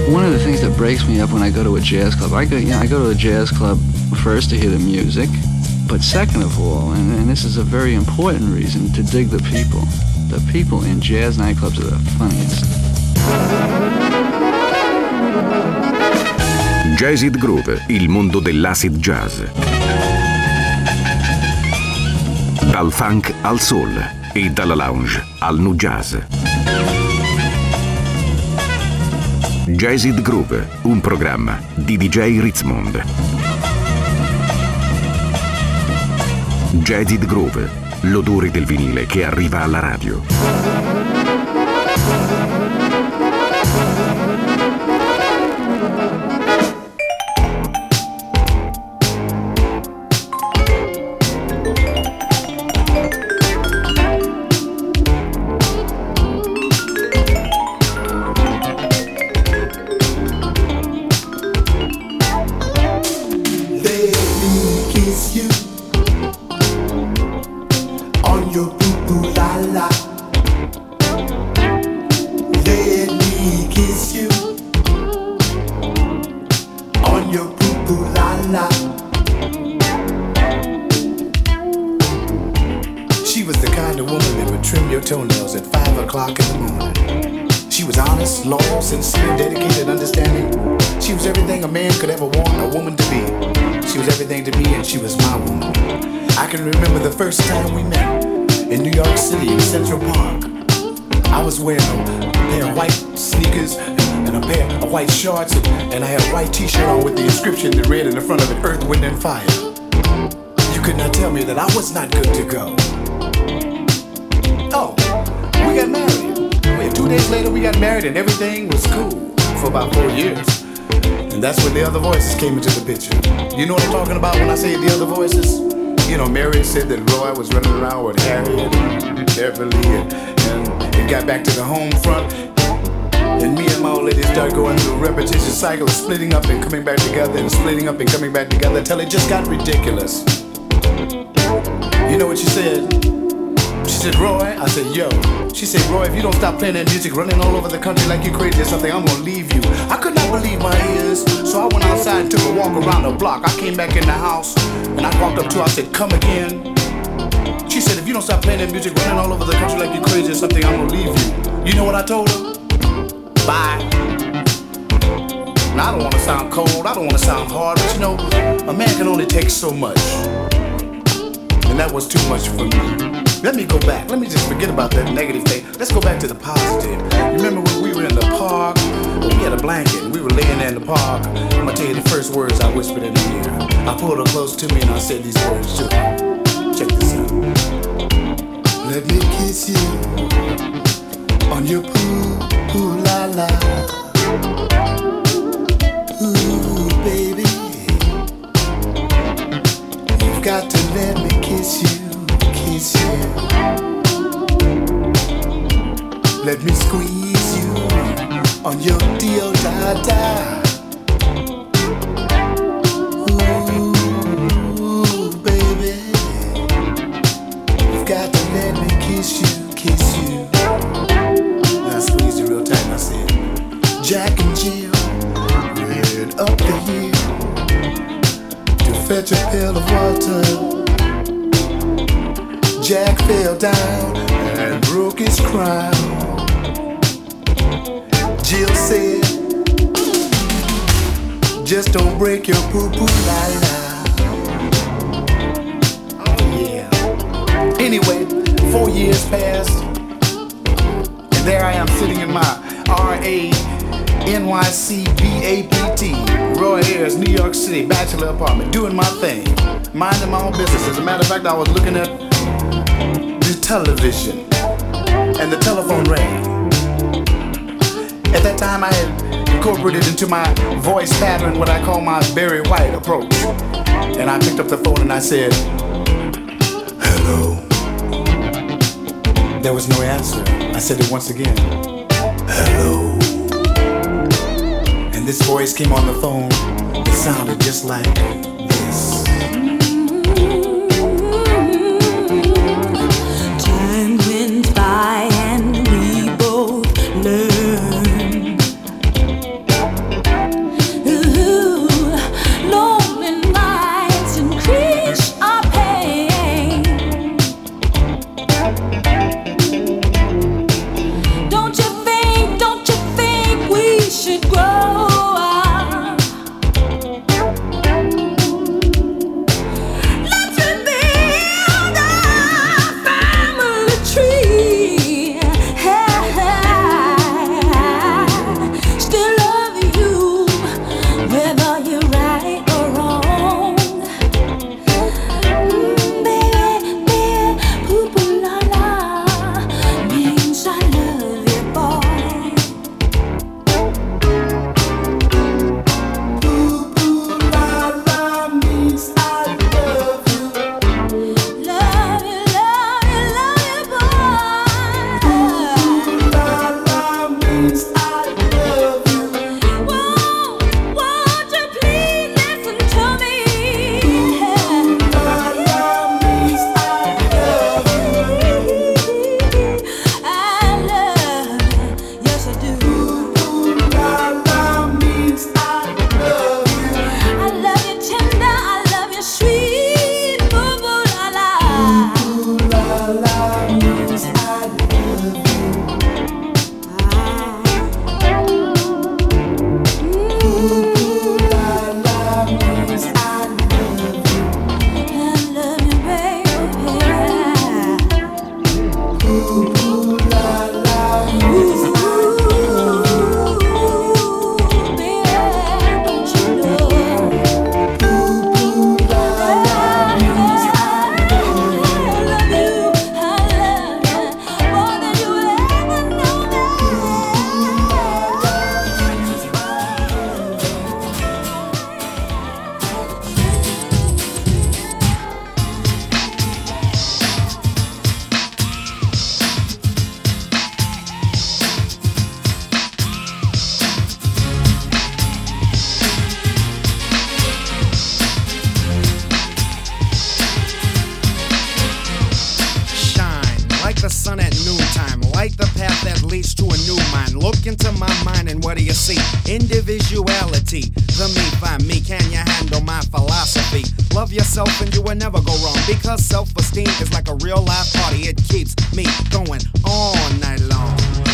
One of the things that breaks me up when I go to a jazz club, I go to a jazz club first to hear the music, but second of all, and this is a very important reason, to dig the people. The people in jazz nightclubs are the funniest. Jazzid Groove, il mondo dell'acid jazz. Dal funk al soul e dalla lounge al nu jazz. Jazzid Groove, un programma di DJ Ritzmond. Jazzid Groove, l'odore del vinile che arriva alla radio. First time we met in New York City in Central Park, I was wearing a pair of white sneakers and a pair of white shorts, and I had a white t-shirt on with the inscription that read in the front of it, Earth, Wind and Fire. You could not tell me that I was not good to go. Oh, we got married. 2 days later we got married and everything was cool for about 4 years. And that's when the other voices came into the picture. You know what I'm talking about when I say the other voices? You know, Mary said that Roy was running around with Harry and Beverly, and it got back to the home front. And me and my old lady started going through a repetitious cycle of splitting up and coming back together and splitting up and coming back together until it just got ridiculous. You know what she said? She said, Roy, I said, yo. She said, Roy, if you don't stop playing that music, running all over the country like you crazy or something, I'm gonna leave you. I could not believe my ears, so I went outside and took a walk around the block. I came back in the house, and I walked up to her, I said, come again. She said, if you don't stop playing that music, running all over the country like you crazy or something, I'm gonna leave you. You know what I told her? Bye. Now, I don't wanna sound cold, I don't wanna sound hard, but you know, a man can only take so much. And that was too much for me. Let me go back. Let me just forget about that negative thing. Let's go back to the positive. Remember when we were in the park? Well, we had a blanket and we were laying there in the park. I'm gonna tell you the first words I whispered in her ear. I pulled her close to me and I said these words to her. Check this out. Let me kiss you on your poo la la. Ooh, baby, you've got to let me kiss you. Let me squeeze you on your da-da. Ooh, baby, you've got to let me kiss you. And I squeezed you real tight and I said, Jack and Jill ran up the hill to fetch a pail of water. Jack fell down and broke his crown. Jill said, just don't break your poo-poo la-la. Oh yeah. Anyway, 4 years passed, and there I am sitting in my R.A. NYC BAPT, Roy Ayers, New York City, bachelor apartment, doing my thing, minding my own business. As a matter of fact, I was looking at the television, and the telephone rang. At that time, I had incorporated into my voice pattern what I call my Barry White approach. And I picked up the phone and I said, hello. There was no answer. I said it once again, hello. And this voice came on the phone. It sounded just like this. Time went by and we both learned Look into my mind and what do you see? Individuality, the me by me. Can you handle my philosophy? Love yourself and you will never go wrong, because self-esteem is like a real life party. It keeps me going all night long.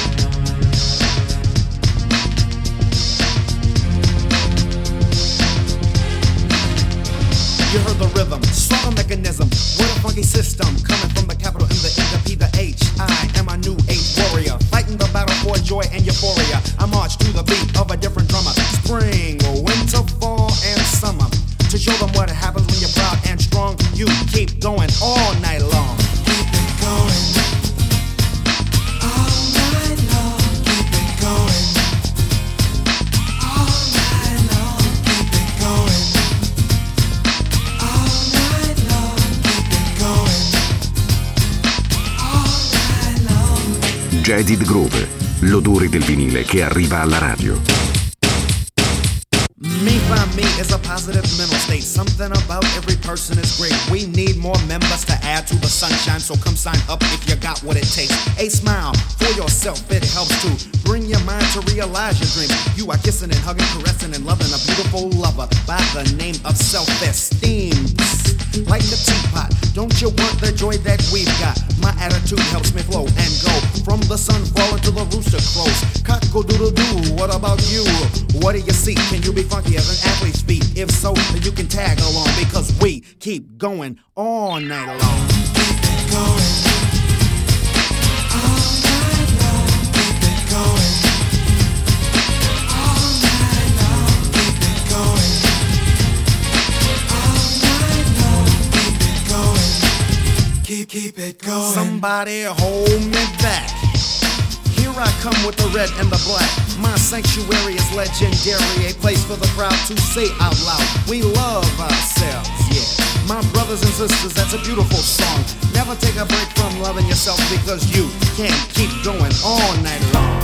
You heard the rhythm, saw the mechanism. What a funky system, coming from the capital M, the E, the P, the H. I am a new age warrior, fighting the battle for joy and euphoria. I march to the beat of a different drummer. Spring, winter, fall, and summer. To show them what happens when you're proud and strong. You keep going all night long. Keep it going. All night long. Keep it going. All night long. Keep it going. All night long. Keep it going. All night long. Jaded Groove, l'odore del vinile che arriva alla radio. Me by me is a positive mental state. Something about every person is great. We need more members to add to the sunshine, so come sign up if you got what it takes. A smile for yourself, it helps to bring your mind to realize your dreams. You are kissing and hugging, caressing and loving a beautiful lover by the name of self-esteem. Like a teapot, don't you want the joy that we've got? My attitude helps me flow and go from the sun falling to the rooster crows. Cock-a-doodle-doo, what about you? What do you see? Can you be funky as an athlete's feet? If so, then you can tag along, because we keep going all night long. Keep it going. All night long. Keep it going. All night long. Keep it going. All night long. Keep it going. Keep it going. Somebody hold me back. Here I come with the red and the black. My sanctuary is legendary, a place for the crowd to say out loud, we love ourselves, yeah. My brothers and sisters, that's a beautiful song. Never take a break from loving yourself, because you can't keep going all night long.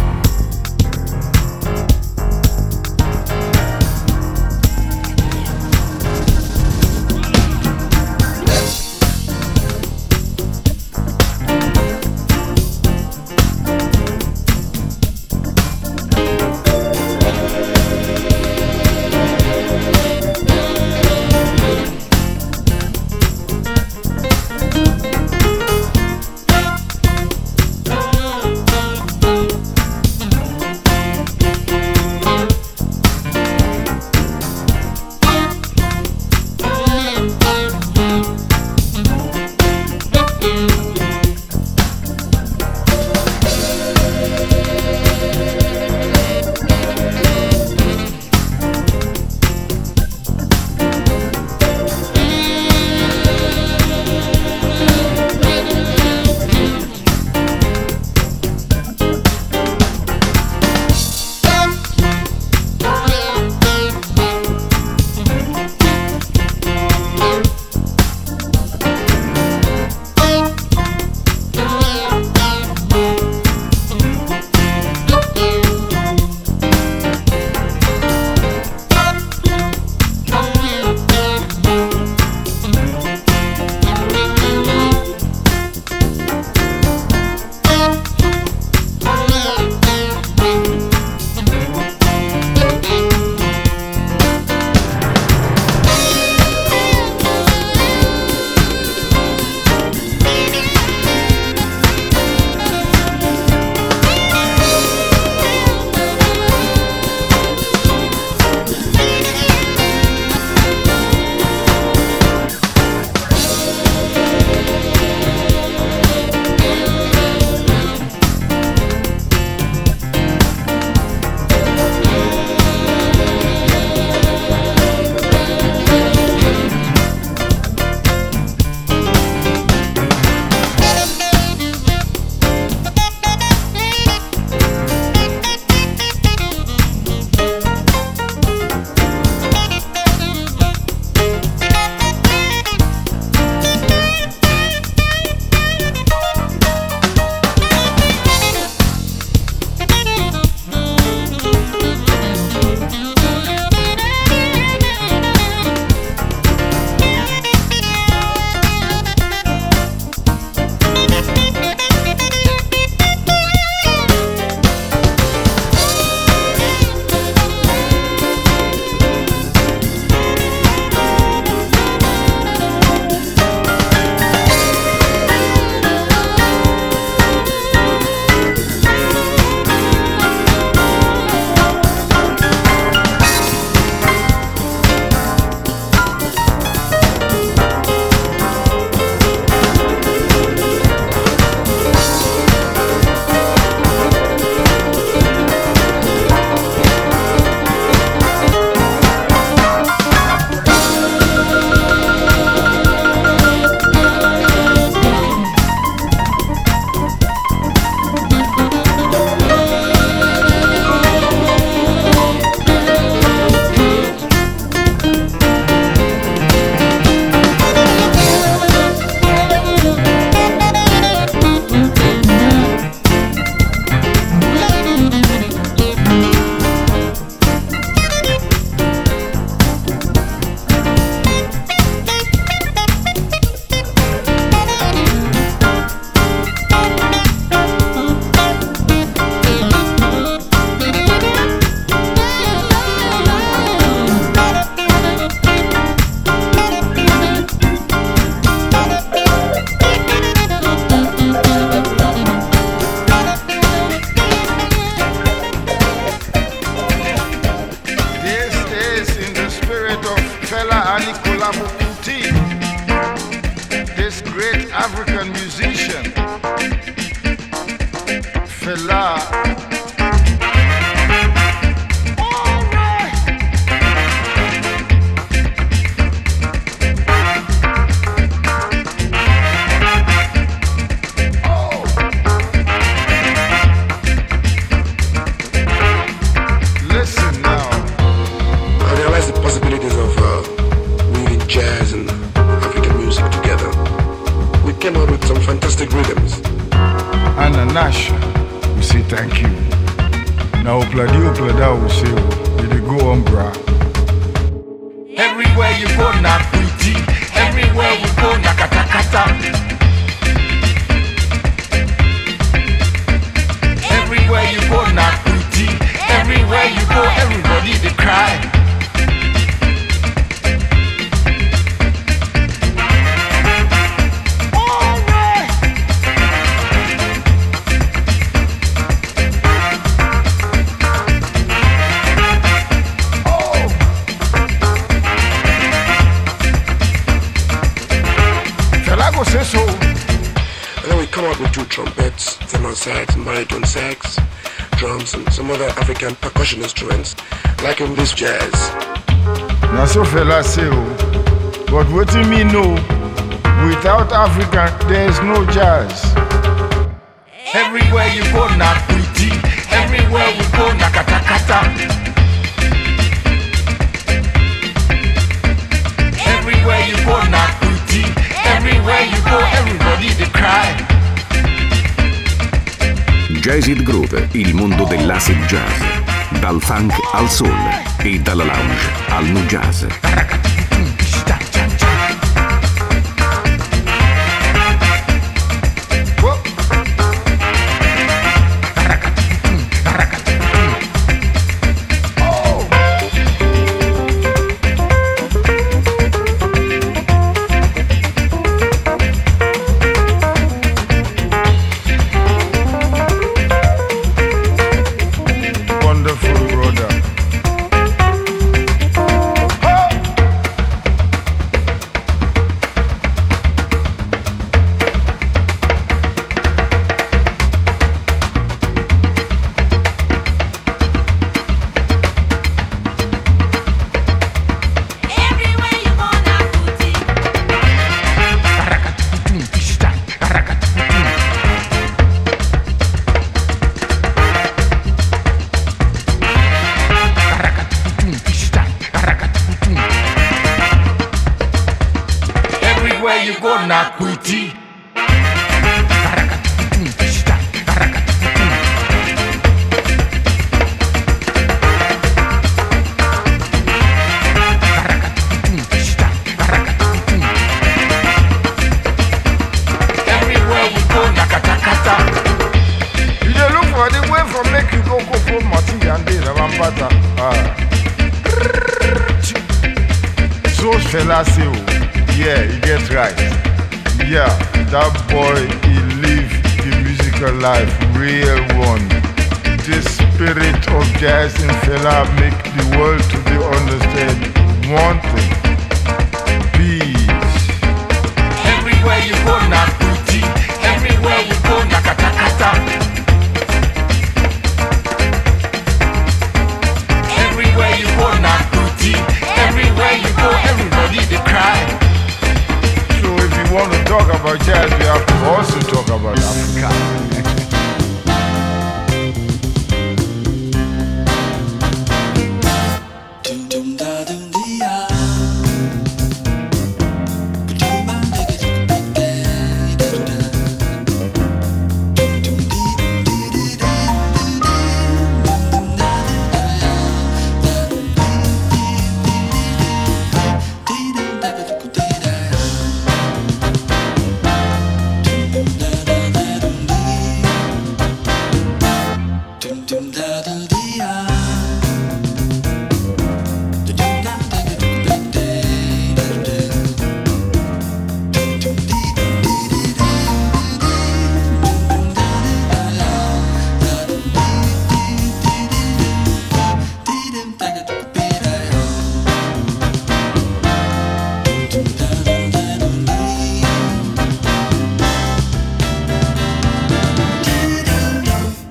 Fela Kuti, this great African musician. Fela. Nash, we say thank you. Now, Plada, we say, we go on, bra. Everywhere you go, na pretty. Everywhere we go, na kata kata. Everywhere you go, na pretty. Everywhere you go, everybody they cry. Say so. And then we come out with two trumpets, tenor sax and baritone sax, drums and some other African percussion instruments, like in this jazz. Now so Fela say, but what do you mean no? Without African, there is no jazz. Everywhere you go, na pretty. Everywhere we go, na kata kata. Everywhere you go, na pretty. Everywhere you go, everybody they cry. Jazz It Groove, il mondo dell'acid jazz. Dal funk al soul e dalla lounge al nu jazz. Fela say, yeah, he gets right. Yeah, that boy, he lived the musical life, real one. The spirit of jazz in Fela make the world today understand one thing: peace. Everywhere you go, na pretty. Everywhere you go, na kata kata. Everywhere you go, na pretty. Everywhere you go, everybody they cry. So if you want to talk about jazz, we have to also talk about Africa.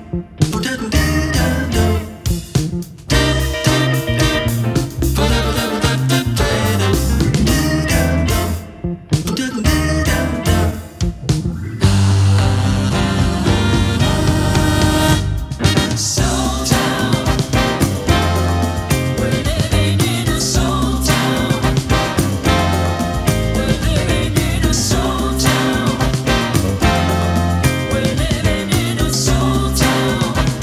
We're living in a soul town.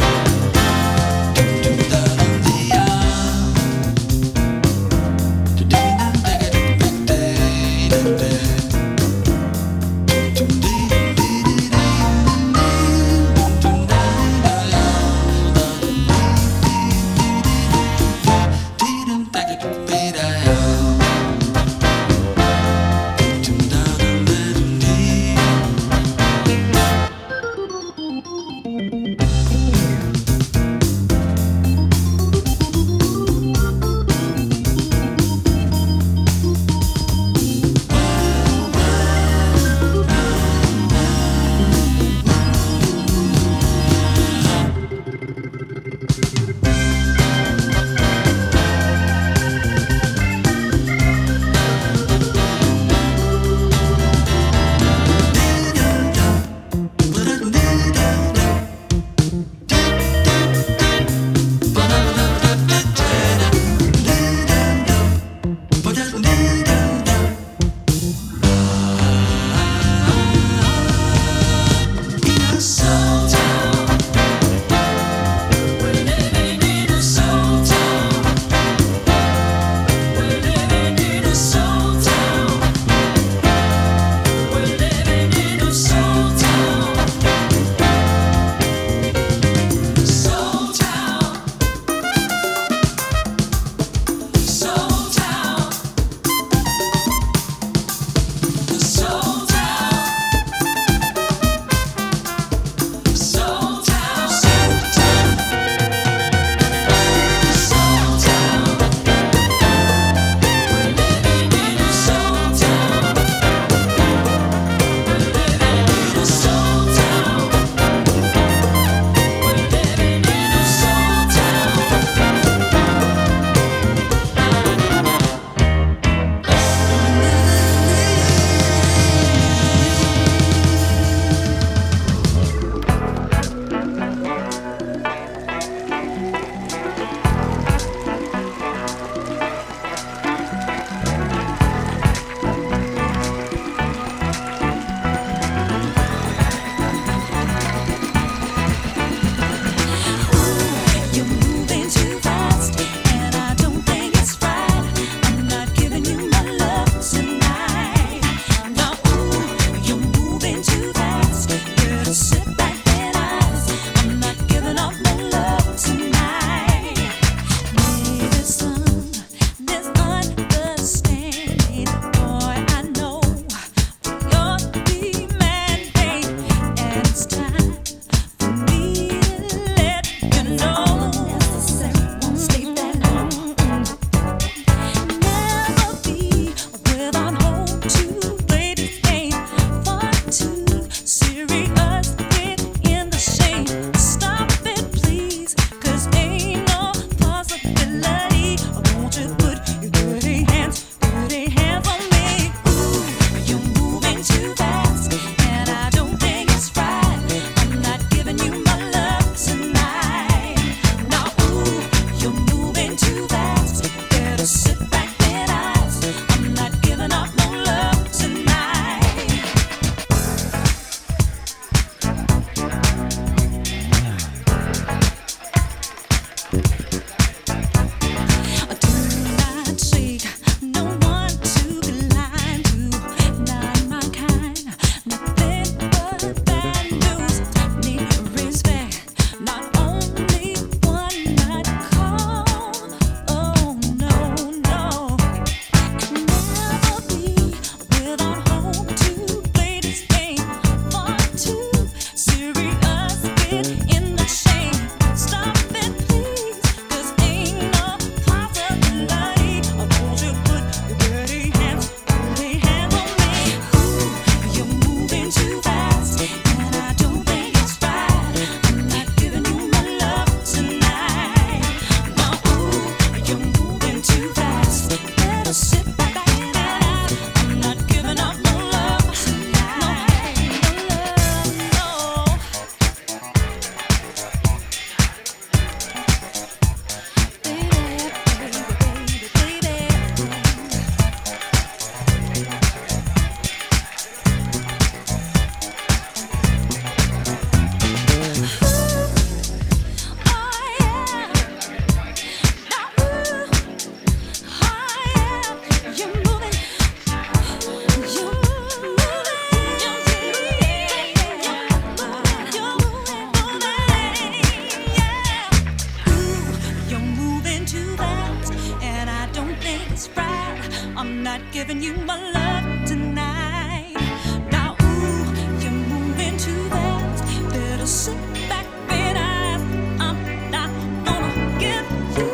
I'm not giving you my love tonight. Now, ooh, you're moving too fast. Better sit back, relax. I'm not gonna give you.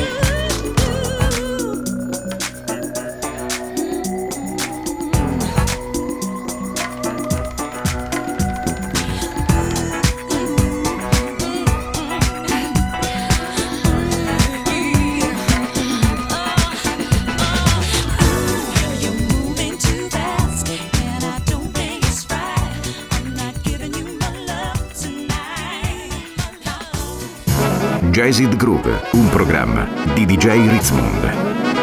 Jazzed Groove, un programma di DJ Ritzmond.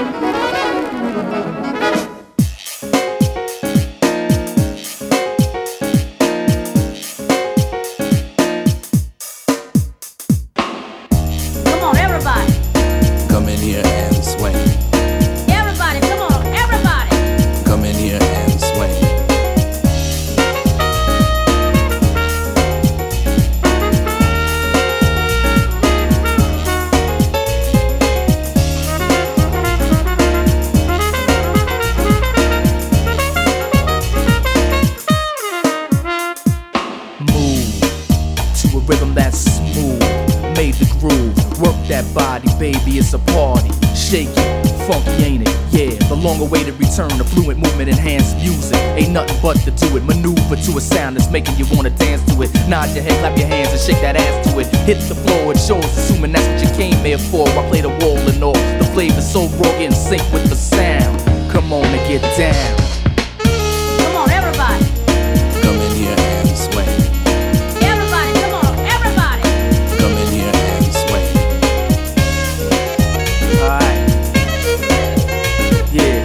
It's a party, shake it, funky ain't it? Yeah, the long-awaited return of fluent movement, enhanced music. Ain't nothing but to do it, maneuver to a sound that's making you wanna dance to it. Nod your head, clap your hands and shake that ass to it. Hit the floor, it shows, assuming that's what you came here for. I play the wall and all, the flavor's so raw, get in sync with the sound. Come on and get down. Come on, everybody. Come in here and swing. Everybody, come on, everybody. Come in here and swing. Alright. Yeah.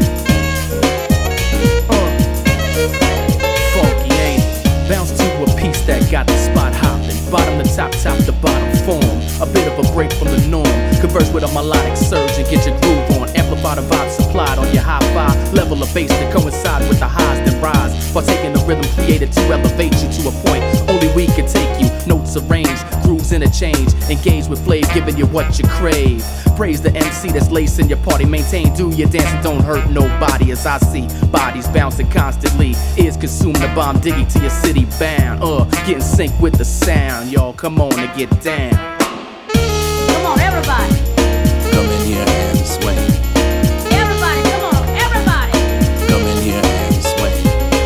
Funky ain't it? Bounce to a piece that got the spot hopping. Bottom to top, top to bottom form. A bit of a break from the norm. Converse with a melodic surge and get your groove on. Amplify the vibe supplied on your high-fi. Level of bass that coincide with the highs that rise. Partaking the rhythm created to elevate you to a point only we can take you. Notes arranged, grooves interchange. Engage with flavor, giving you what you crave. Praise the MC that's lacing your party. Maintain, do your dance and don't hurt nobody. As I see bodies bouncing constantly. Ears consume the bomb, diggy to your city bound. Get in sync with the sound. Y'all come on and get down. Come on, everybody. Come in here and swing. Everybody, come on, everybody. Come in here and swing.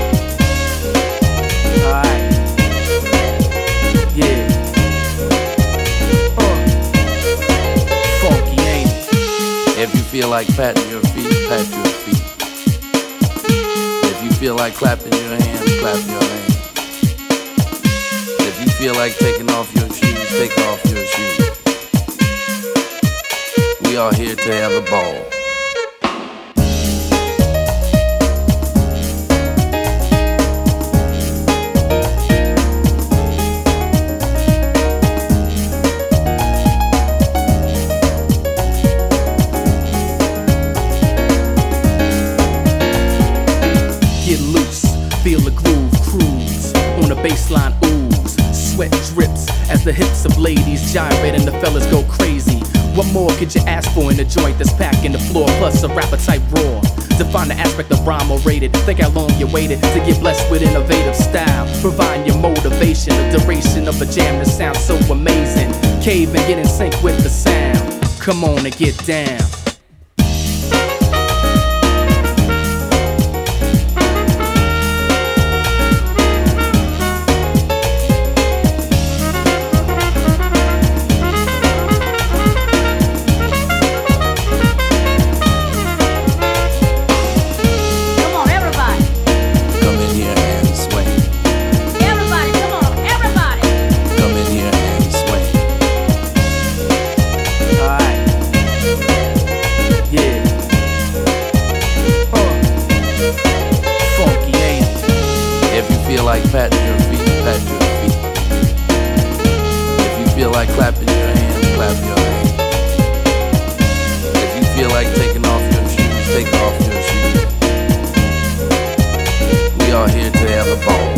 Alright. Yeah. Funky ain't it? If you feel like patting your feet, pat your feet. If you feel like clapping your hands, clap your hands. If you feel like taking off your shoes, take off your shoes. We are here to have a ball. Get loose, feel the groove, cruise on the baseline, ooze. Sweat drips as the hips of ladies gyrate and the fellas go crazy. What more could you ask for in a joint that's packing the floor, plus a rapper type raw? Define the aspect of rhyme or rated. Think how long you waited to get blessed with innovative style. Providing your motivation, the duration of a jam that sounds so amazing. Cave and get in sync with the sound. Come on and get down. Like patting your feet, pat your feet. If you feel like clapping your hands, clap your hands. If you feel like taking off your shoes, take off your shoes. We are here to have a ball.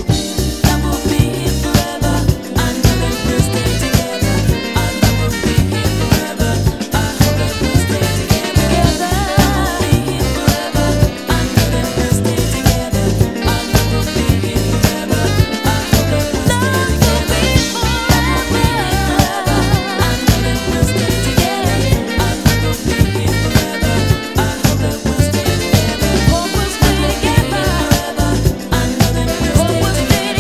What was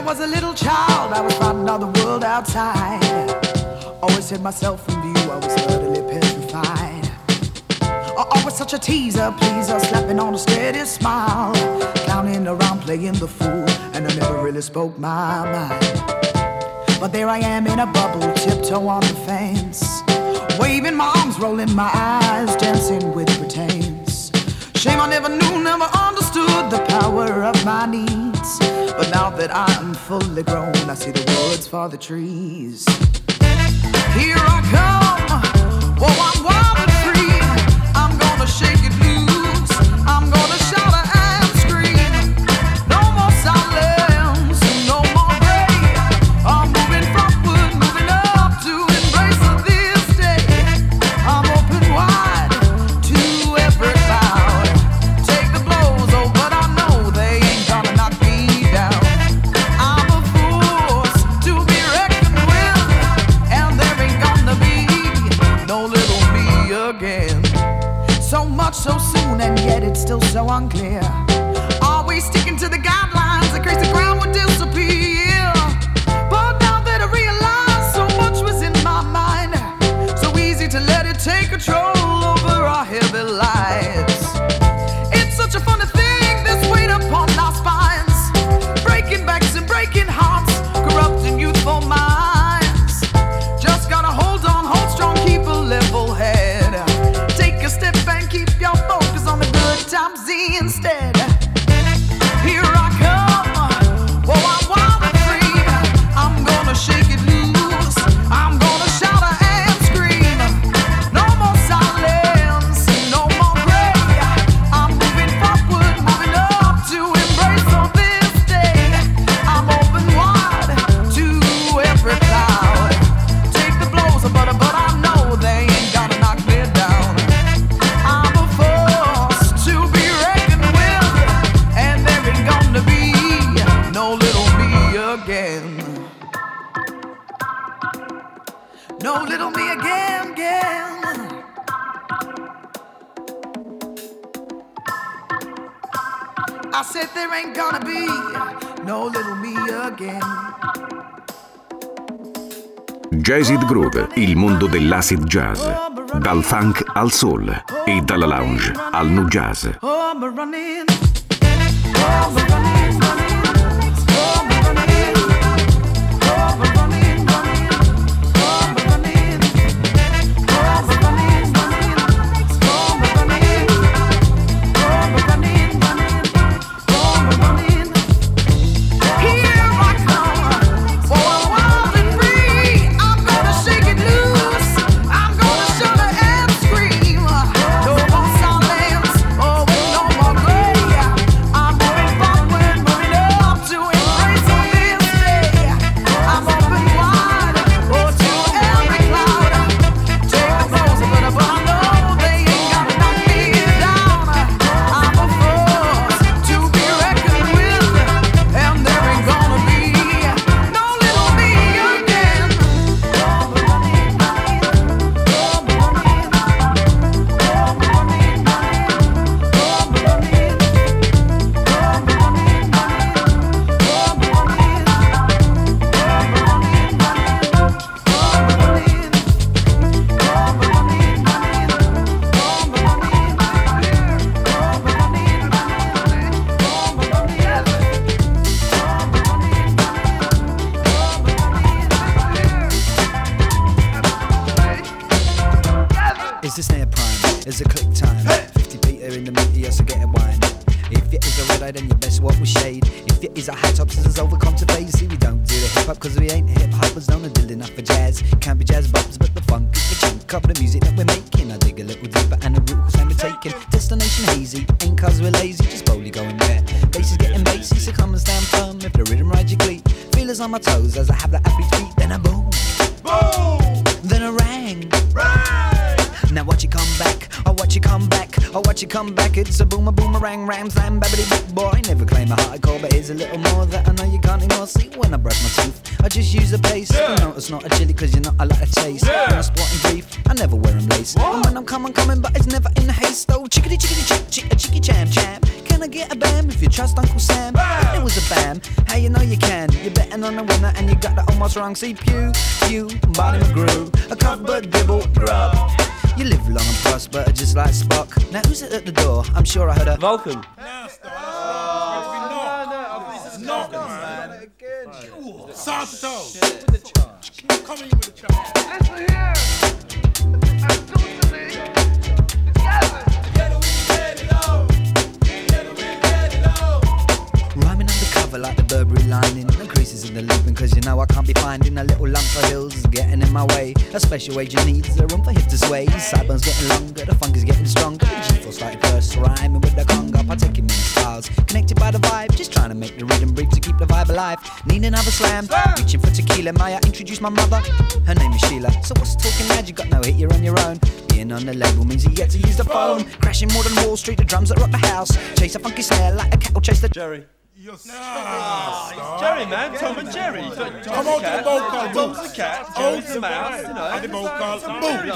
was a little child, I was fighting all the world outside. Always hid myself from view, I was utterly petrified. Always such a teaser, pleaser, slapping on a steady smile. Clowning around, playing the fool, and I never really spoke my mind. But there I am in a bubble, tiptoe on the fence, waving my arms, rolling my eyes, dancing with pretense. Shame I never knew, never understood the power of my needs. But now that I am fully grown, I see the woods for the trees. Here I come, oh I'm wild and free. I'm gonna shake it loose, I'm gonna shout and scream. No more silence, no more gray. I'm moving forward, moving up to embrace this day. I'm open wide to every cloud. Take the blows, oh but I know they ain't gonna knock me down. I'm a force to be reckoned with, and there ain't gonna be no little me again. So much so soon, and yet it's still so unclear. Always sticking to the guidelines in case the ground would disappear. But now that I realize so much was in my mind, so easy to let it take control over our heavy lives. It's such a funny thing, this weight upon our spines, breaking backs and breaking hearts, corrupting youthful minds. Just gotta hold on, hold strong, keep a level head. Take a step and keep your focus on the good times instead. Here I come, oh I'm wild and free. I'm gonna shake it loose, I'm gonna shout and scream. No more silence, no more gray. I'm moving forward, moving up to embrace all this day. I'm open wide to every cloud. Take the blows, but I know they ain't gonna knock me down. I'm a force to be reckoned with, and there ain't gonna be no little me again. No little me again, again. I said there ain't gonna be no little me again. Jazzid Groove, il mondo dell'acid jazz, dal funk al soul e dalla lounge al nu jazz. Oh, I'm running. Oh, I'm running, running. Oh, I'm running. Oh, I'm running, running. Oh, I'm running. Oh, I'm running, running. Oh, I'm running. Oh, I'm running, running. Oh, I'm running. Here I come, oh I'm wild and free. I'm gonna shake it loose, I'm gonna shout and scream. No more silence, oh no more gray. I'm moving forward, moving up to embrace on this day. I'm open wide, oh to every cloud. Take the blows, but I know they ain't gonna knock me down. I'm a force to be reckoned with, and there ain't gonna be no little me again. Oh, I'm running, running. Oh, I'm running, running. Oh, I'm running, running. Oh, I'm running. Oh, I'm running, running. Oh, I'm running. Oh, I'm running, running. Oh, I'm running. Is this snare prime? Is it click time? 50 Peter in the meteor, so get a wine. If you is a red eye, then you best walk with shade. If you is a high top, scissors overcome to phase. See, we don't do the hip hop cause we ain't hip hoppers. Don't deal enough for jazz. Can't be jazz bops, but the funk is the chunk of the music that we're making. I dig a little deeper and the route cause we're taking. Destination hazy, ain't cause we're lazy, just boldly going there. Bass is getting bassy, so come and stand firm. If the rhythm rides your glee, feelers on my toes as I have the happy beat. Then a boom, boom, then a rang, rang. Now watch it come back, oh watch it come back, oh watch it come back. It's a boomer, boomerang, ram, slam, babbity big boy. Never claim a hardcore, but here's a little more that I know you can't ignore. See, when I brush my teeth, I just use a paste. No, it's not a chili, cause you're not, I like a taste. When I squat and brief, I never wear them lace. And when I'm coming, but it's never in haste. Oh, chickity, chickity, chick, chick, a chicky, cham, cham. Can I get a bam if you trust Uncle Sam? If there was was a bam. How you know you can? You're betting on a winner and you got that almost wrong. See, Pew, Barney McGrew, a covered dibble grub. You live long and prosper, just like Spock. Now who's it at the door? I'm sure I heard a Vulcan. Santo! Come in with the charge. Listen here! Rhyming undercover like the Burberry lining. No creases in the looping, cause you know I can't be finding a little lumps of hills getting in my way. A special agent needs a room for hip to sway. Sideburns getting longer, the funk is getting stronger. The G-force like first, rhyming with the conga. Partaking many styles, connected by the vibe. Just trying to make the rhythm brief to keep the vibe alive. Need another slam, reaching for tequila. Maya introduce my mother, her name is Sheila. So what's talking mad? You got no hit, you're on your own. Being on the label means you get to use the phone. Crashing more than Wall Street, the drums that rock the house. Chase a funky snare like a cattle chase the Jerry. It's Jerry, man. Tom and Jerry. Come on to the boat call. Tom's the cat, Jerry's the mouse, you know. And the boat call. Boom.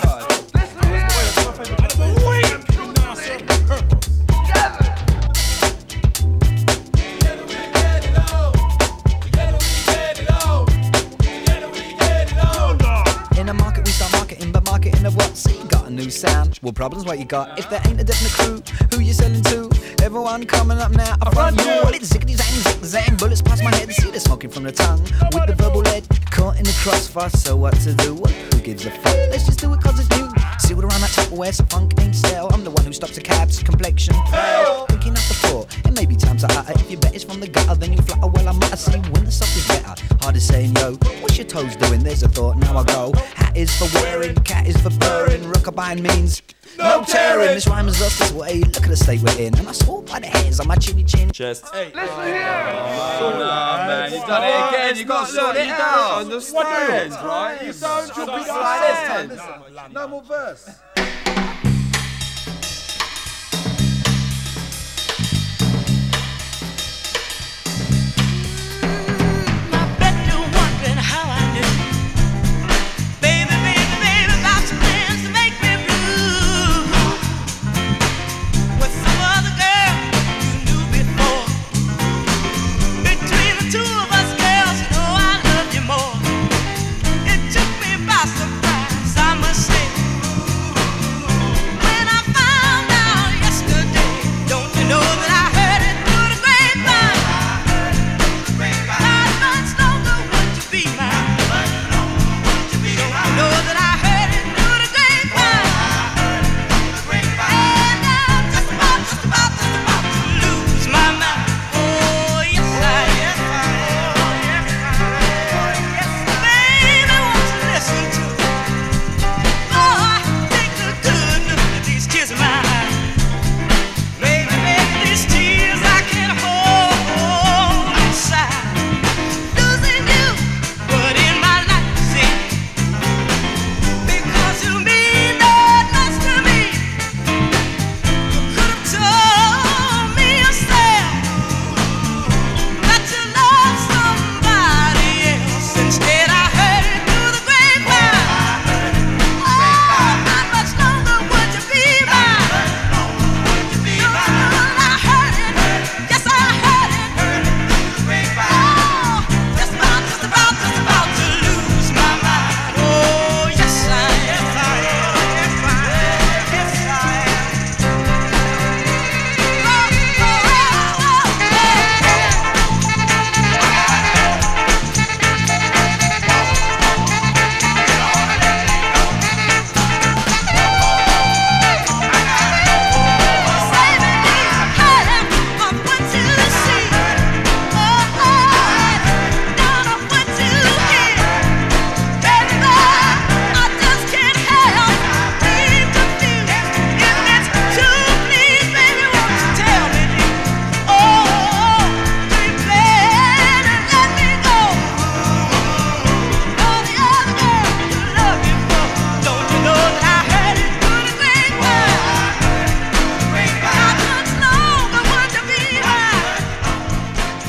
In the market we start marketing, but marketing of what? See, got a new sound. What problems what you got? If there ain't a definite crew, who you selling to? Everyone coming up now, I front you. Well, it's ziggity zang, zig zang, bullets past my head. See the smoking from the tongue, with the verbal lead. Caught in the crossfire, so what to do? Well, who gives a fuck? Let's just do it cause it's new. Sealed around that Tupperware, so funk ain't stale. I'm the one who stops a cab's complexion pale. Thinking up the thought, it may be time to utter. If you bet it's from the gutter, then you flutter. Well, I might see when the soft is better. Hard as saying, yo, what's your toes doing? There's a thought, now I go. Hat is for wearing, cat is for purring. Rockabye means no tearing. This rhyme has lost its way, look at the state we're in. And I swore by the hairs on my chinny chin. Chest. Hey, listen here! Oh, no, man, you've done it again. You've got to sort it out. Understand, right? You don't understand. No more verse.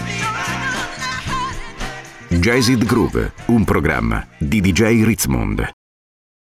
Jazzed Groove, un programma di DJ Ritzmond.